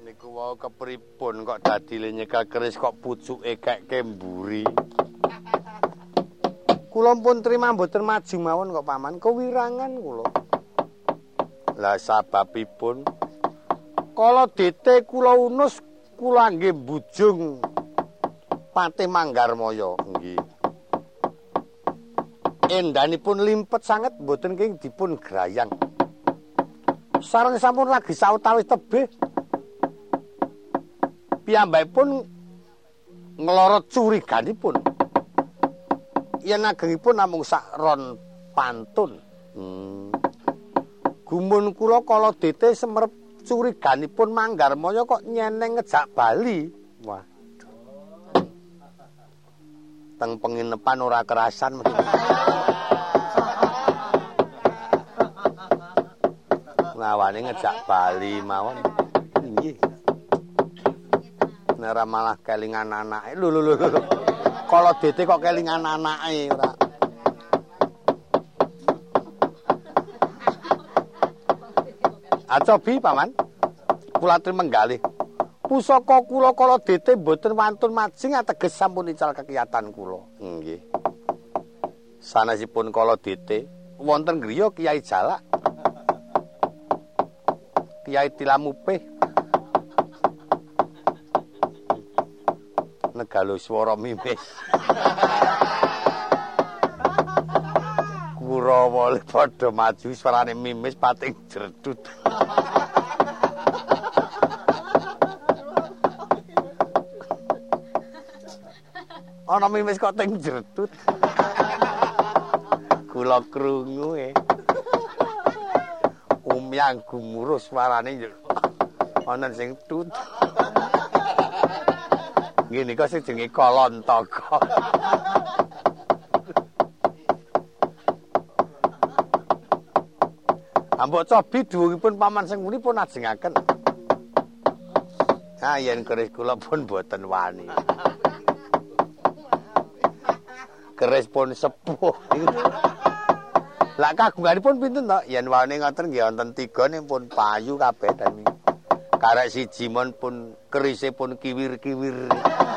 Niku wau kepripun kok dadile nyekel keris kok pucuke keke mburi. Kula pun trima mboten maju mawon kok paman, kewirangan kula. Lah sababipun kala dite kula unus kula nggih bujung Patih Manggarmaya nggih. Endanipun limpet sanget mboten kenging dipun grayang. Sareng sampun lagi sautawis tebih. Piyambakipun nglorot curiganipun. Yen agengipun namung sak ron pantun. Gumun kula kala dite semerep curiganipun Manggarmaya kok nyeneng ngejak bali. Waduh. Teng penginepan ora kerasan. Ngawane ngejak bali mawon. Nggih. Nek malah kelingan anake. Lho. Kala dite kok kelingan anake ora. Acobi paman. Kula aturi menggalih. Pusaka kula kala dite mboten wantun majing ateges sampun ical kekiyatan kula. Nggih. Sanesipun kala dite wonten griya Kyai Jalak. Kyai Tilamupih. Negalo swara mimis. Kurawa padha maju swarane mimis pating jredut. Ana mimis kok ting jredut. Kula krungu umyang gumuruh swarane ana sing tut. Ngene kok sing jenenge Kalontaka. Ambok cobi duwungipun paman sing muni pun ajengaken. Ah yen keris kula pun boten wani. Keris pun sepuh. Lah kagunganipun pinten to? Yen wane ngoten nggih wonten 3 ning pun payu kabeh dan karek siji mon pun kerise pun kiwir-kiwir.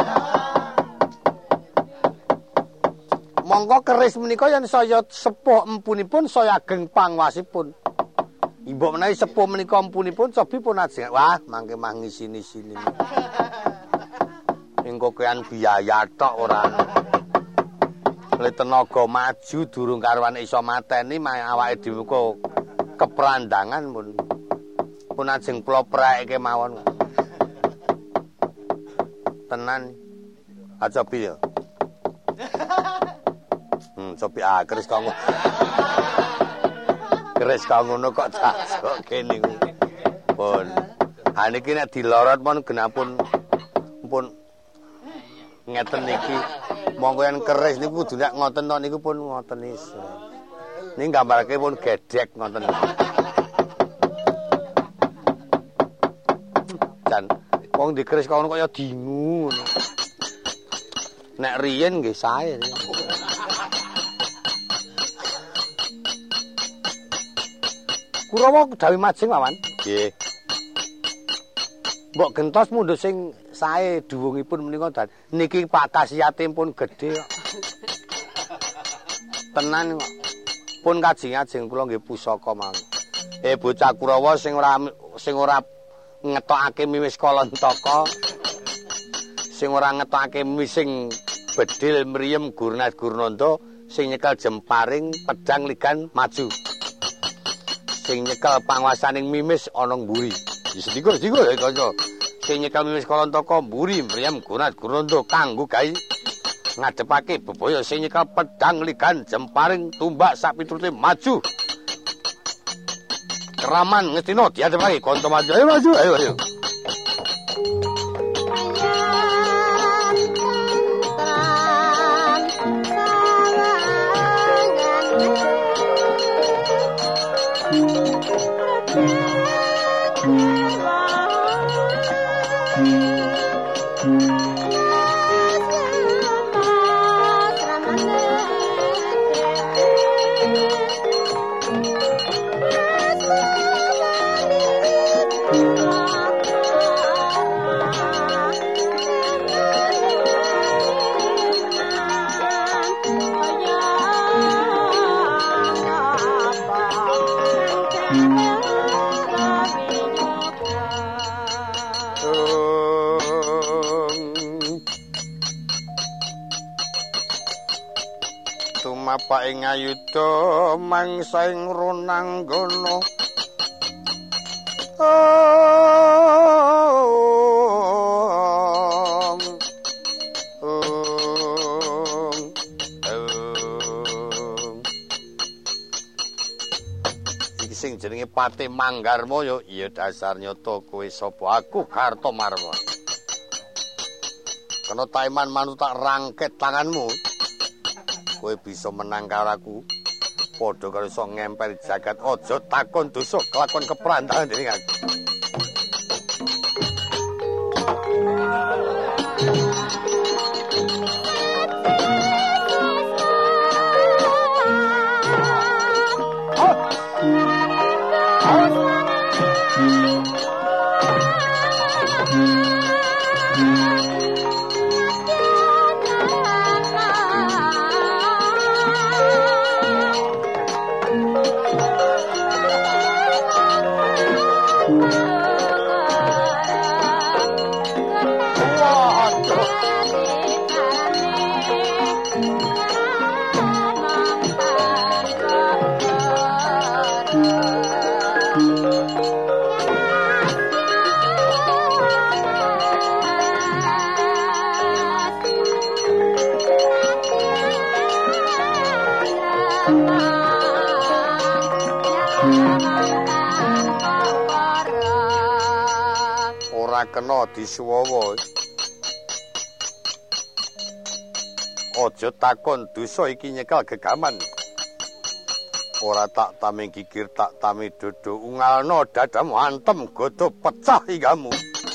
Monggo keris menika yen saya sepuh empunipun saya ageng pangwasipun. Mbok menawi sepuh menika empunipun cobi pun ajeng. Wah, mangke mah ngisini-sini. Engko kean biaya tok ora. Le tenaga maju durung karuan iso mateni awake dhewe kok keprandangan pun ajeng kula preke mawon. Tenan. Acobi ya. Cobi keris kok ngono. Keris kok ngono kok tak kene pun. Ha niki nek dilorot pun genapun pun ngeten niki. Monggo yen keris niku kudu nek ngoten to niku pun ngoten iso. Niki gambarake pun gedhek ngoten. Dan wong dikeris kok ngono kaya dingu ngono. Nek riyen nggih sae. Kurawa dawi majeng mawon. Nggih. Mbok gentos mundhut sing sae duwungipun menika dan niki Pak Kasiyate pun gedhe kok. Tenan kok. Pun kajeng-ajeng kula nggih pusaka mawon. Bocah Kurawa sing ora ngetokake miwis Kalontaka. Sing ora ngetokake miwis sing bedil mriyem Gurnat Gurnanda, sing nyekel jemparing pedang ligan maju. Sing nyekel panguasaning mimis ana mburi. Sedika kanca. Sing nyekel mimis Kalontaka mburi mriyem Gurnat Gurnanda kanggo gawe ngadepake bebaya. Sing nyekel pedang ligan jemparing tumbak sak piturute maju. Keraman ngestina diadepake kanca maju. Ayo maju, ayo. tumapak ing ayuda mangsa ing runanggana iki sing jenenge Pati Manggarma ya iya dasar nyata kowe sapa aku Kartomarma kena taiman manut tak rangket tanganmu kowe bisa menang karo aku padha karo iso ngempel jagat aja takon dosa kelakon keprantahan dening aku kena disuwawa aja takon dosa iki nyekel gegaman ora tak tami gigir tak tami dodo ungalno dadamu antem godo pecah igamu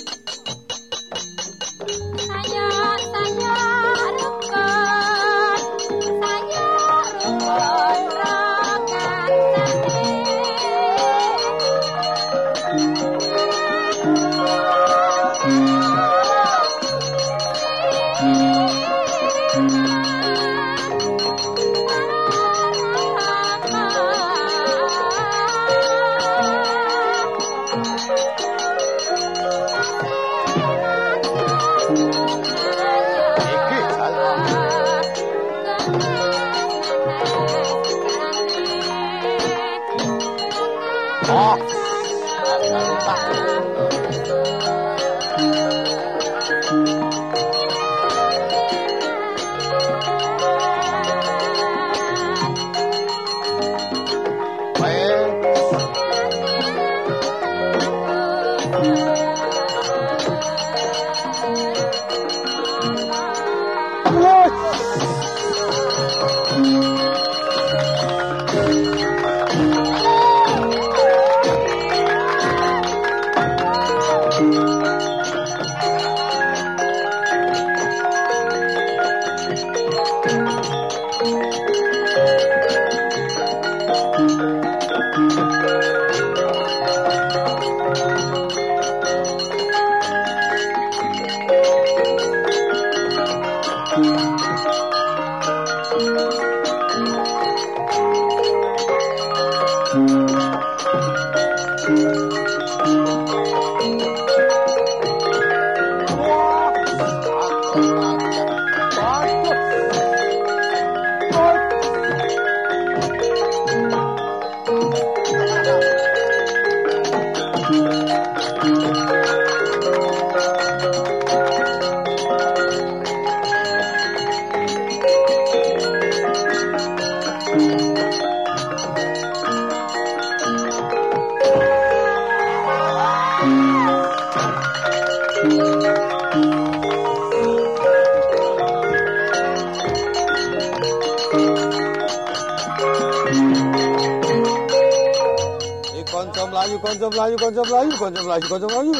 Konco mlayu.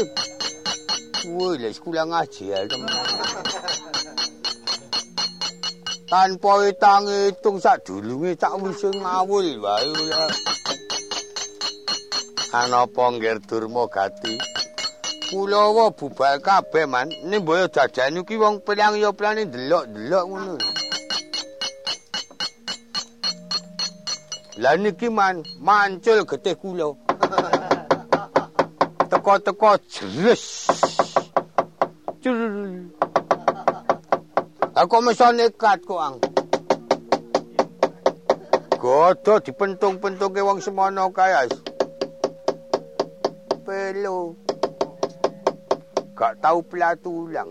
Woi, lek sekolah ngaji ya, teman. Tanpa hitung sak dulunge cak wis ngawul wae ya. Anapa ngger durma gati? Kulawa bubal kabeh man, nimboyo dadan iki wong pelang ya pelane delok-delok ngono. Lah niki man mancul getih kula. Teko-teko jres. Aku meso nekat kok ang. godo dipentung-pentungke wong semono kae. Pelo. Gak tau platulang.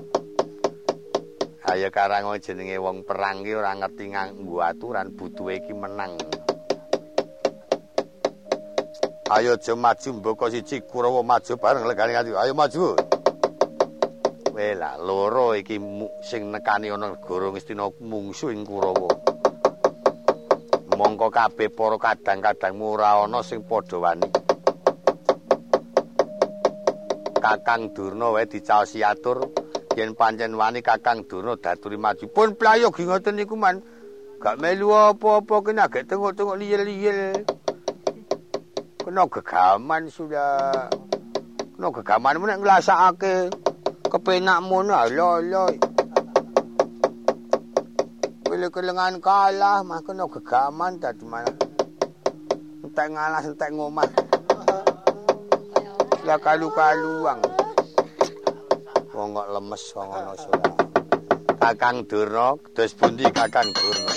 Ayo karang jenenge wong perang ki ora ngerti nganggo aturan butuhe iki menang. Ayo aja maju mboko siji Kurawa maju bareng legane kanthi. Ayo maju. Wela loro iki sing nekani ana negara Ngastina mungsuh ing Kurawa. Mongko kabeh para kadang-kadangmu ora ana sing padha wani. Kakang Durna wae dicaosi atur yen pancen wani Kakang Durna daturi maju. Pun playogi ngoten niku man gak melu apa-apa kena gek tengok-tengok liyel-liyel. Kena gegaman sudah. Kena gegamanmu nek nglasakake kepenakmu lho. Kelengan kalah mah kena gegaman dadi mana. Entek ngalah entek ngomah. Lah kalu-kaluang. Wong kok lemes wong ana sora. Kakang Durna, dos pundi Kakang Durna?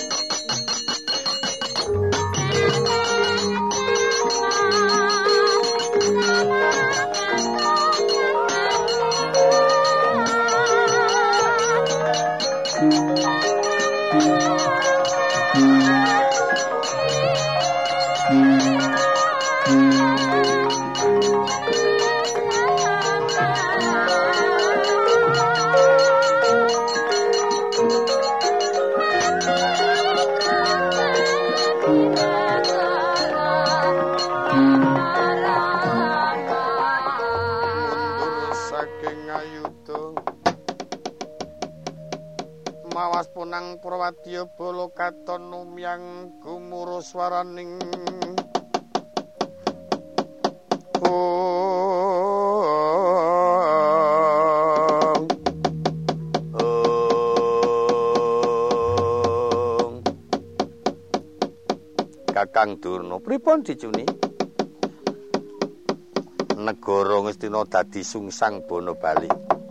Punang Prawadya bala katon numyang gumuru swaraning Kakang Durna pripun dicuni? Negara Ngastina dadi sungsang bono bali.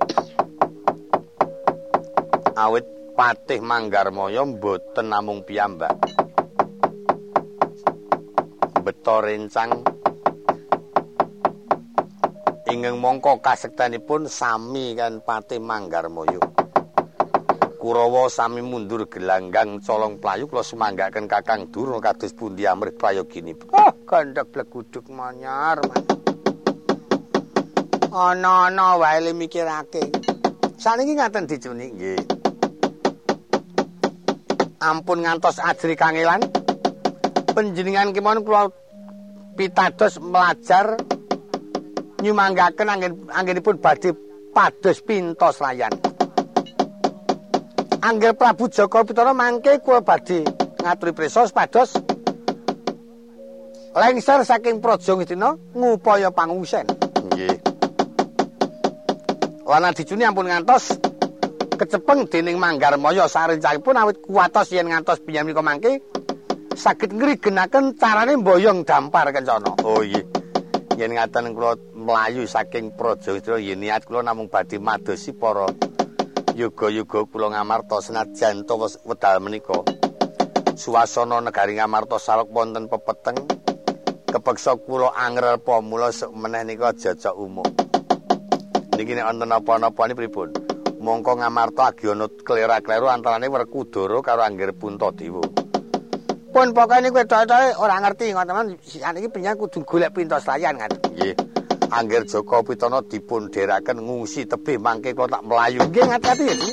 Awit Patih Manggarmaya mboten namung piyambak. Beta rencang ingkang mangka kasektanipun sami kan Patih Manggarmaya. Kurawa sami mundur gelanggang colong playu kula sumanggaken Kakang Durna kados pundi amrih prayoginipun. Gandhek bleguduk manyar. Ana-ana wae le mikirake. Saniki ngaten dicuni nggih. Ampun ngantos ajri kangelan panjenengan kemawon kula pitados melajar nyumanggaken anggenipun badhe pados pintos layan. Angger Prabu Jaka Pitana mangke kula badhe ngaturi prisa pados lengser saking Praja Ngastina ngupaya pangungsen. Nggih. Wana dicuni ampun ngantos kecepeng dening Manggarmaya sarencangipun awit kuwatos yen ngantos piyambika mangke saged ngrigenaken carane mboyong dampar kencana. Oh iya. Yen ngaten kula mlayu saking Praja Ngastina yen niat kula namung badhe madosi para yoga-yoga kula Ngamarta senajan to wedal menika. Suasana negari Ngamarta sarek wonten pepeteng kepeksa kula angrel pamula meneh nika jajak umum. Niki nek wonten apa-apa niki pripun? Mongko Ngamarta agi ana klera-kleru antarane Werkudara karo Angger Puntadewa. Pun pokoke niku wedok-wedoke ora ngerti ngoten saniki penyen kudu golek pintos layan kan. Nggih. Angger Jaka Pitana dipun dheraken ngungsi tebih mangke kula tak mlayu. Nggih ngati-ati ya.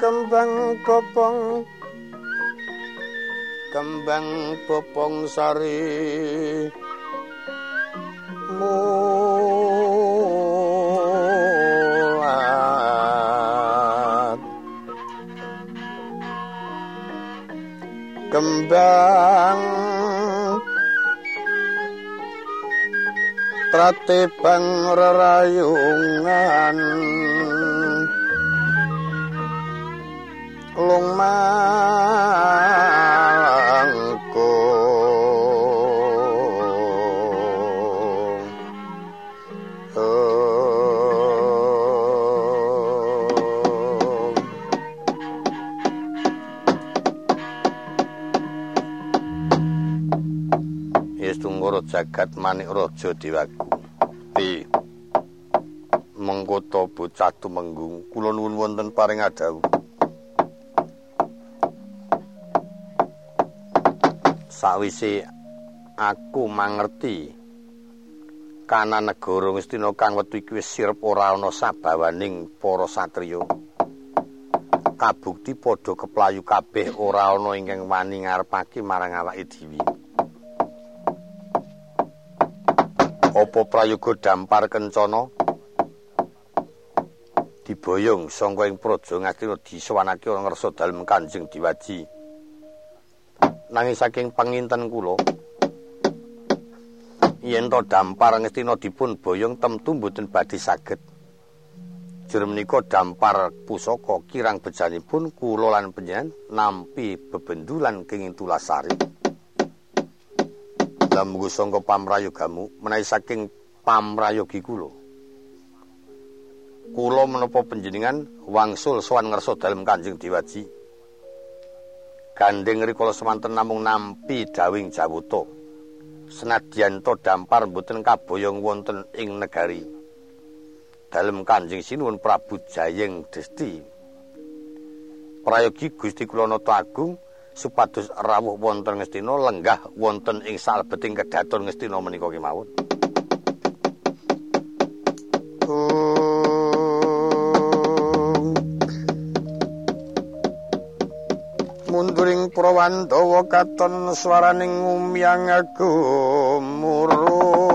kembang bopong sari mulat kembang pratibang rerayungan lung jagat manik raja dewaku mengkota bocah tumenggung kula nuwun wonten paring adhawu sawise aku mangerti kana negara Ngastina kang wektu iki wis sirep ora ana sabawaning para satriya kabukti padha keplayu kabeh ora ana ingkang wani ngarepake marang awake dhewe apa prayoga dampar kencana diboyong sangka ing praja Ngastina disowanake ana ngarsa dalem Kanjeng Diwaji nanging saking panginten kula yen to dampar Ngastina dipun boyong temtu mboten badhe saged jero menika dampar pusaka kirang bejanipun kula lan panjenengan nampi bebendulan kenging Tulasari lamuga sangka pamrayogamu menawi saking pamrayogi kula menapa panjenengan wangsul sowan ngarsa dalem Kanjeng Diwaji gandeng rikala semanten namung nampi dawing jawata senadyan to dampar mboten kaboyong wonten ing negari dalem Kanjeng Sinuwun Prabu Jayeng Desti prayogi Gusti kula nata agung supados rawuh wonten Ngastina lenggah wonten ing salebeting kedaton Ngastina menika kemawon. Munduring Prawandawa katon swaraning ngumyang gumuru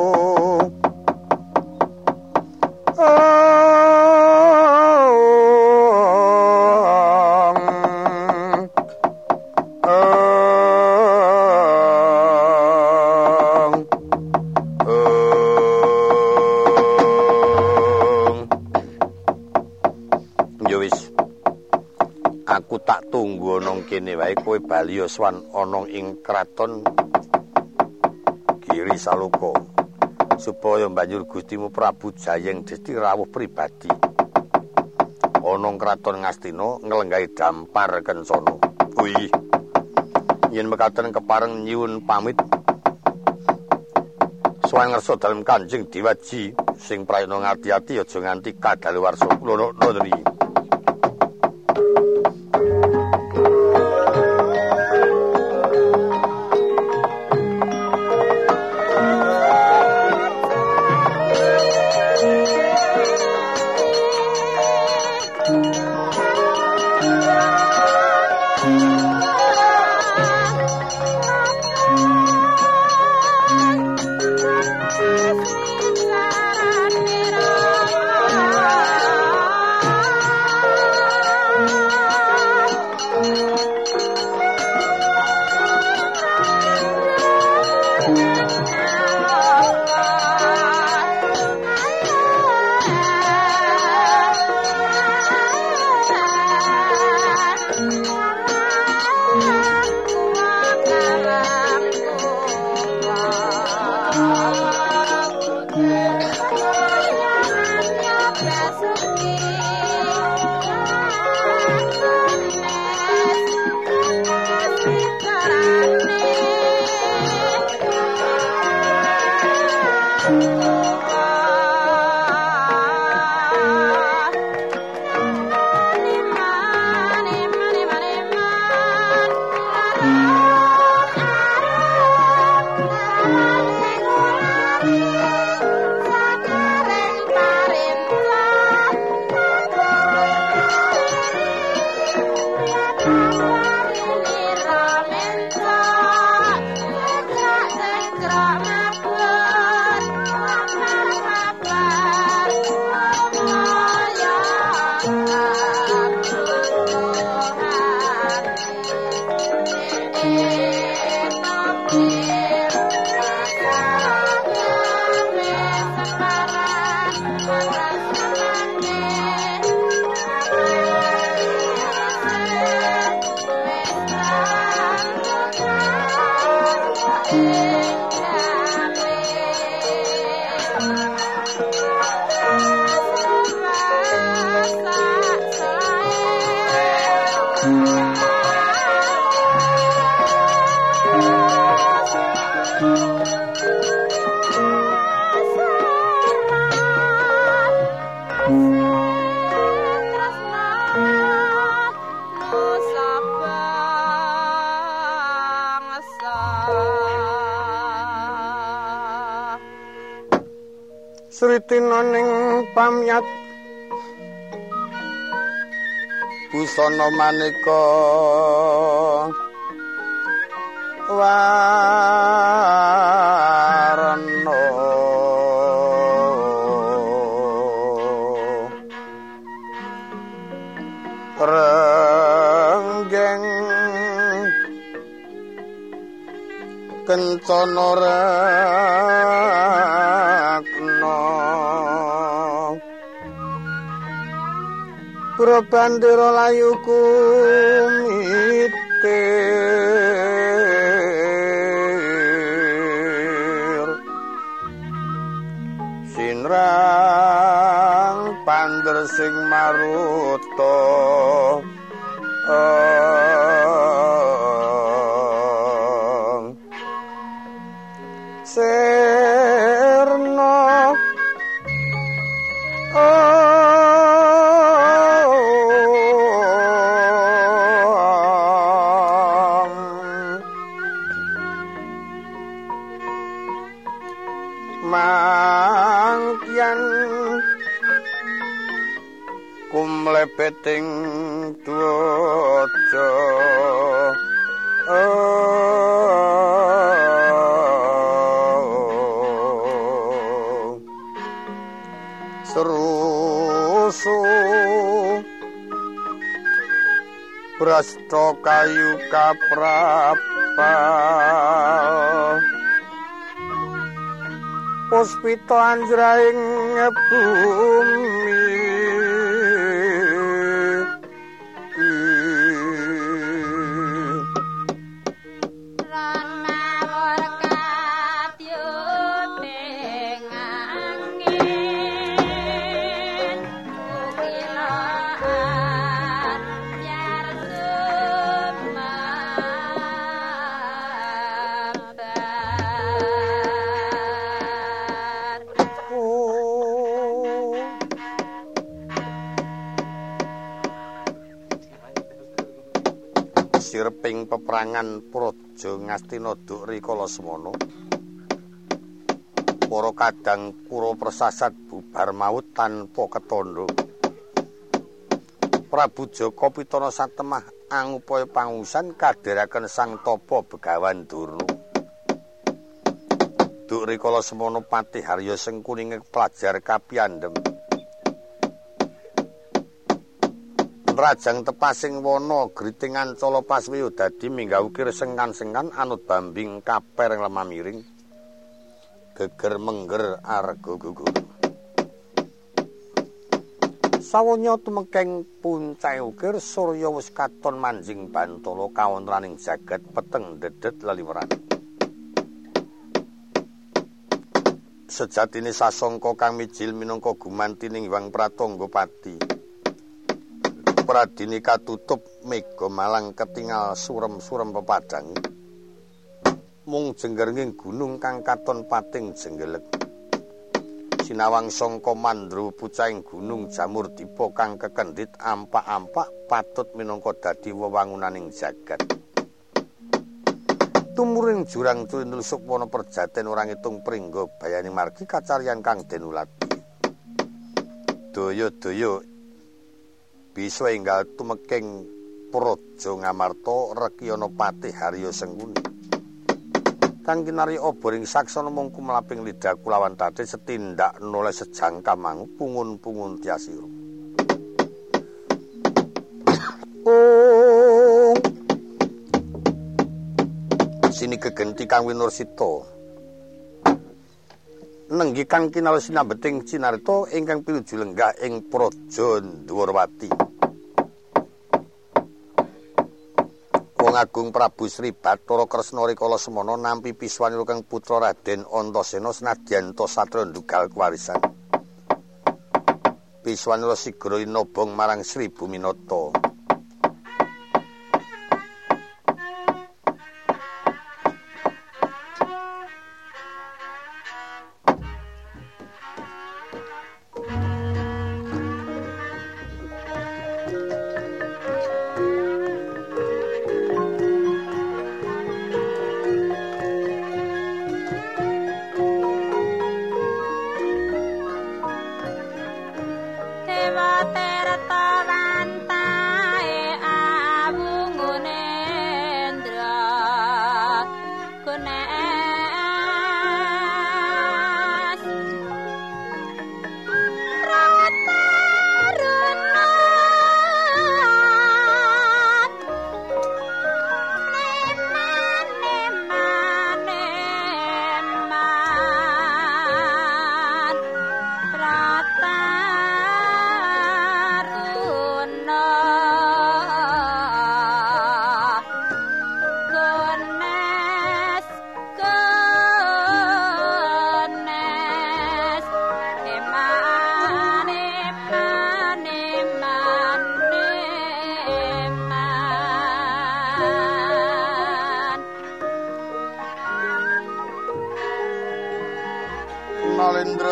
kene wae kowe bali swan ana ing kraton Giri Saloka supaya banjur Gustimu Prabu Jayeng Desti rawuh pribadi ana ing kraton Ngastina nglenggahi dampar kencana. Kuwi yen mekaten kepareng nyuwun pamit swan ngarsa dalem Kanjeng Diwaji sing prayana ngati-ati aja nganti kadaluwarsa kula nundri. Sritina ning pamyat busana maneka warna renggeng kencana Pura bandera layu kumitir sinrang pander sing maruta serna mangkian kumlebeting dwaja serusu brasta kayu kaprapal puspita anjraing bumi sirping peperangan Praja Ngastina Duk rikala semana para kadang pura persasat bubar maut tanpa ketandha Prabu Jaka Pitana Satemah angupaya pangusan kadhiraken Sang Tapa Begawan Durna Duk rikala semana Patih Harya Sengkuning pelajar kapiyandhem Rajang tepasing wana gritingan cala paswiya dadi minggah ukir sengkan-sengkan anut bambing kaper lemah miring geger mengger arga gugur sawanya tumekeng puncake ukir surya wis katon manjing bantala kawontenaning jagat peteng dedet leliweran sejatine sasangka kang mijil minangka gumantining Hyang Pratangga Pati Pradini katutup mega malang ketingal surem-surem pepadang mung jenggernging gunung kang katon pating jenggelek sinawang sangka mandra pucahing gunung jamur dipa kang kekendhit ampak-ampak patut minangka dadi wewangunaning jagat tumuring jurang turindul sukwana perjaten ora ngitung pringga bayaning margi kacarian kang denulati daya-daya bisa enggal tumeking Praja Ngamarta Rekyana Patih Harya Sengkuning kang kinarya aboring saksana mung kumlaping lidah kulawan tatih setindak noleh sejangka mangu pungun-pungun tiasira sini gegenti kang winursita nenggi kang kinal sinambeting cinarita ingkang pinuju lenggah ing Praja Dwarawati Wong Agung Prabu Sri Bathara Kresna rikala semana nampi piswanira kang putra Raden Antasena senadyan ta satra ndugal kewarisan. Piswanira sigra inobong marang Sri Buminata.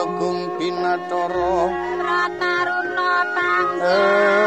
Agung Binathara Prataruna tansah